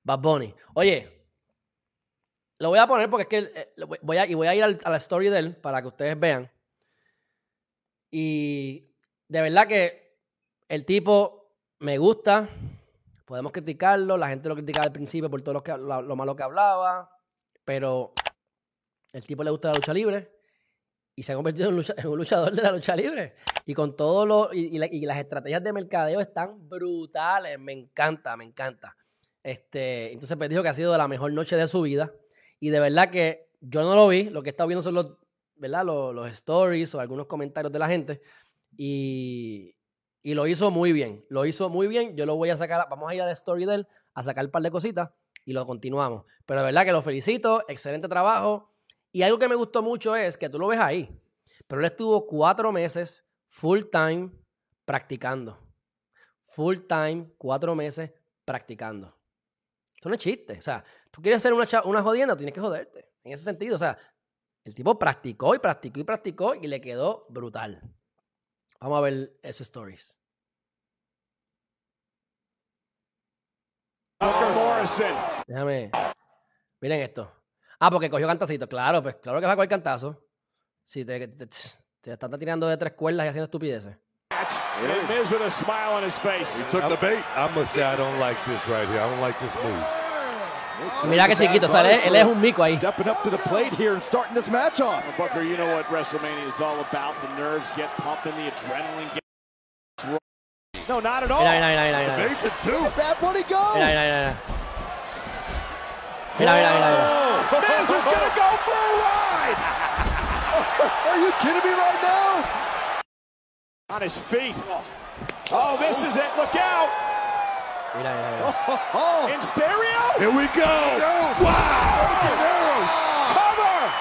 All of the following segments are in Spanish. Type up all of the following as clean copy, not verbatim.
Bad Bunny. Oye, lo voy a poner porque es que voy a ir a la story de él para que ustedes vean. Y de verdad que el tipo me gusta. Podemos criticarlo. La gente lo criticaba al principio por todo lo malo que hablaba. Pero el tipo le gusta la lucha libre. Y se ha convertido en un luchador de la lucha libre. Y con todo y las estrategias de mercadeo están brutales. Me encanta, me encanta. Entonces pues dijo que ha sido la mejor noche de su vida. Y de verdad que yo no lo vi. Lo que he estado viendo son los stories o algunos comentarios de la gente. Y lo hizo muy bien. Lo hizo muy bien. Yo lo voy a sacar. Vamos a ir a la story de él a sacar un par de cositas y lo continuamos. Pero de verdad que lo felicito. Excelente trabajo. Y algo que me gustó mucho es que tú lo ves ahí. Pero él estuvo 4 meses full time practicando. Full time, 4 meses practicando. Esto no es chiste. O sea, tú quieres hacer una jodienda, tienes que joderte. En ese sentido, o sea, el tipo practicó y practicó y practicó y le quedó brutal. Vamos a ver esos stories. Déjame. Miren esto. Porque cogió cantacito. Claro, pues claro que va a coger cantazo. Si te están tirando de 3 cuerdas y haciendo estupideces. And Miz with a smile on his face. He took the bait. I must say I don't like this right here. I don't like this move. Mira qué chiquito, o sea, él es un mico ahí. Stepping up to the plate here and starting this match off. Booker, you know what WrestleMania is all about. The nerves get pumping, the adrenaline gets rolling. No, not at all. Mira. Evasive too. Bad Bunny go. Mira. Miz is gonna go for a ride. Are you kidding me right now? On his feet. Oh, this is it. Look out. Mira. In stereo? Here we go. Wow. Cover.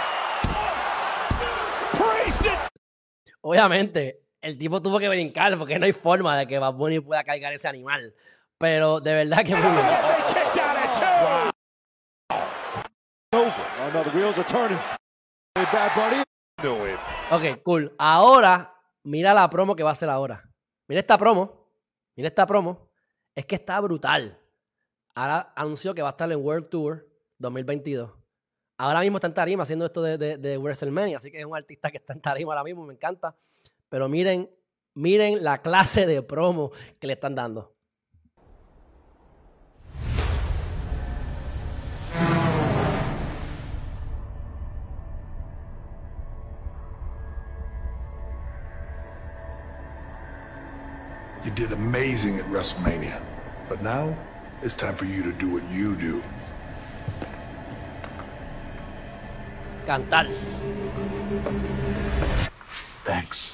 Priest it. Obviamente, el tipo tuvo que brincar porque no hay forma de que Bad Bunny pueda cargar ese animal. Pero de verdad que muy bien. They kicked out at 2. Over. Oh no, the wheels are turning. Bad Bunny. Do it. Ok, cool. Ahora, mira la promo que va a hacer ahora. Mira esta promo. Es que está brutal. Ahora anunció que va a estar en World Tour 2022. Ahora mismo está en tarima haciendo esto de WrestleMania. Así que es un artista que está en tarima ahora mismo. Me encanta. Pero miren la clase de promo que le están dando. You did amazing at WrestleMania. But now, it's time for you to do what you do. Cantar. Thanks.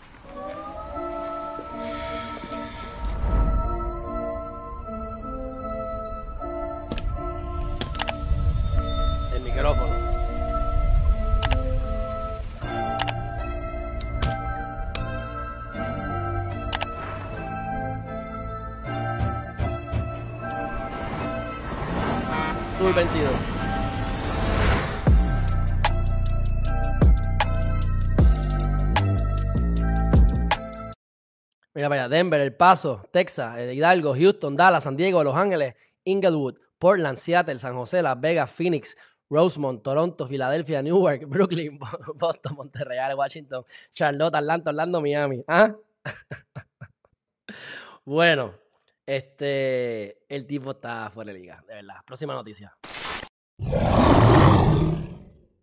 El micrófono. Tour 22. Mira para allá, Denver, El Paso, Texas, Hidalgo, Houston, Dallas, San Diego, Los Ángeles, Inglewood, Portland, Seattle, San José, Las Vegas, Phoenix, Rosemont, Toronto, Filadelfia, Newark, Brooklyn, Boston, Monterrey, Washington, Charlotte, Atlanta, Orlando, Miami. Bueno, el tipo está fuera de liga, de verdad. Próxima noticia.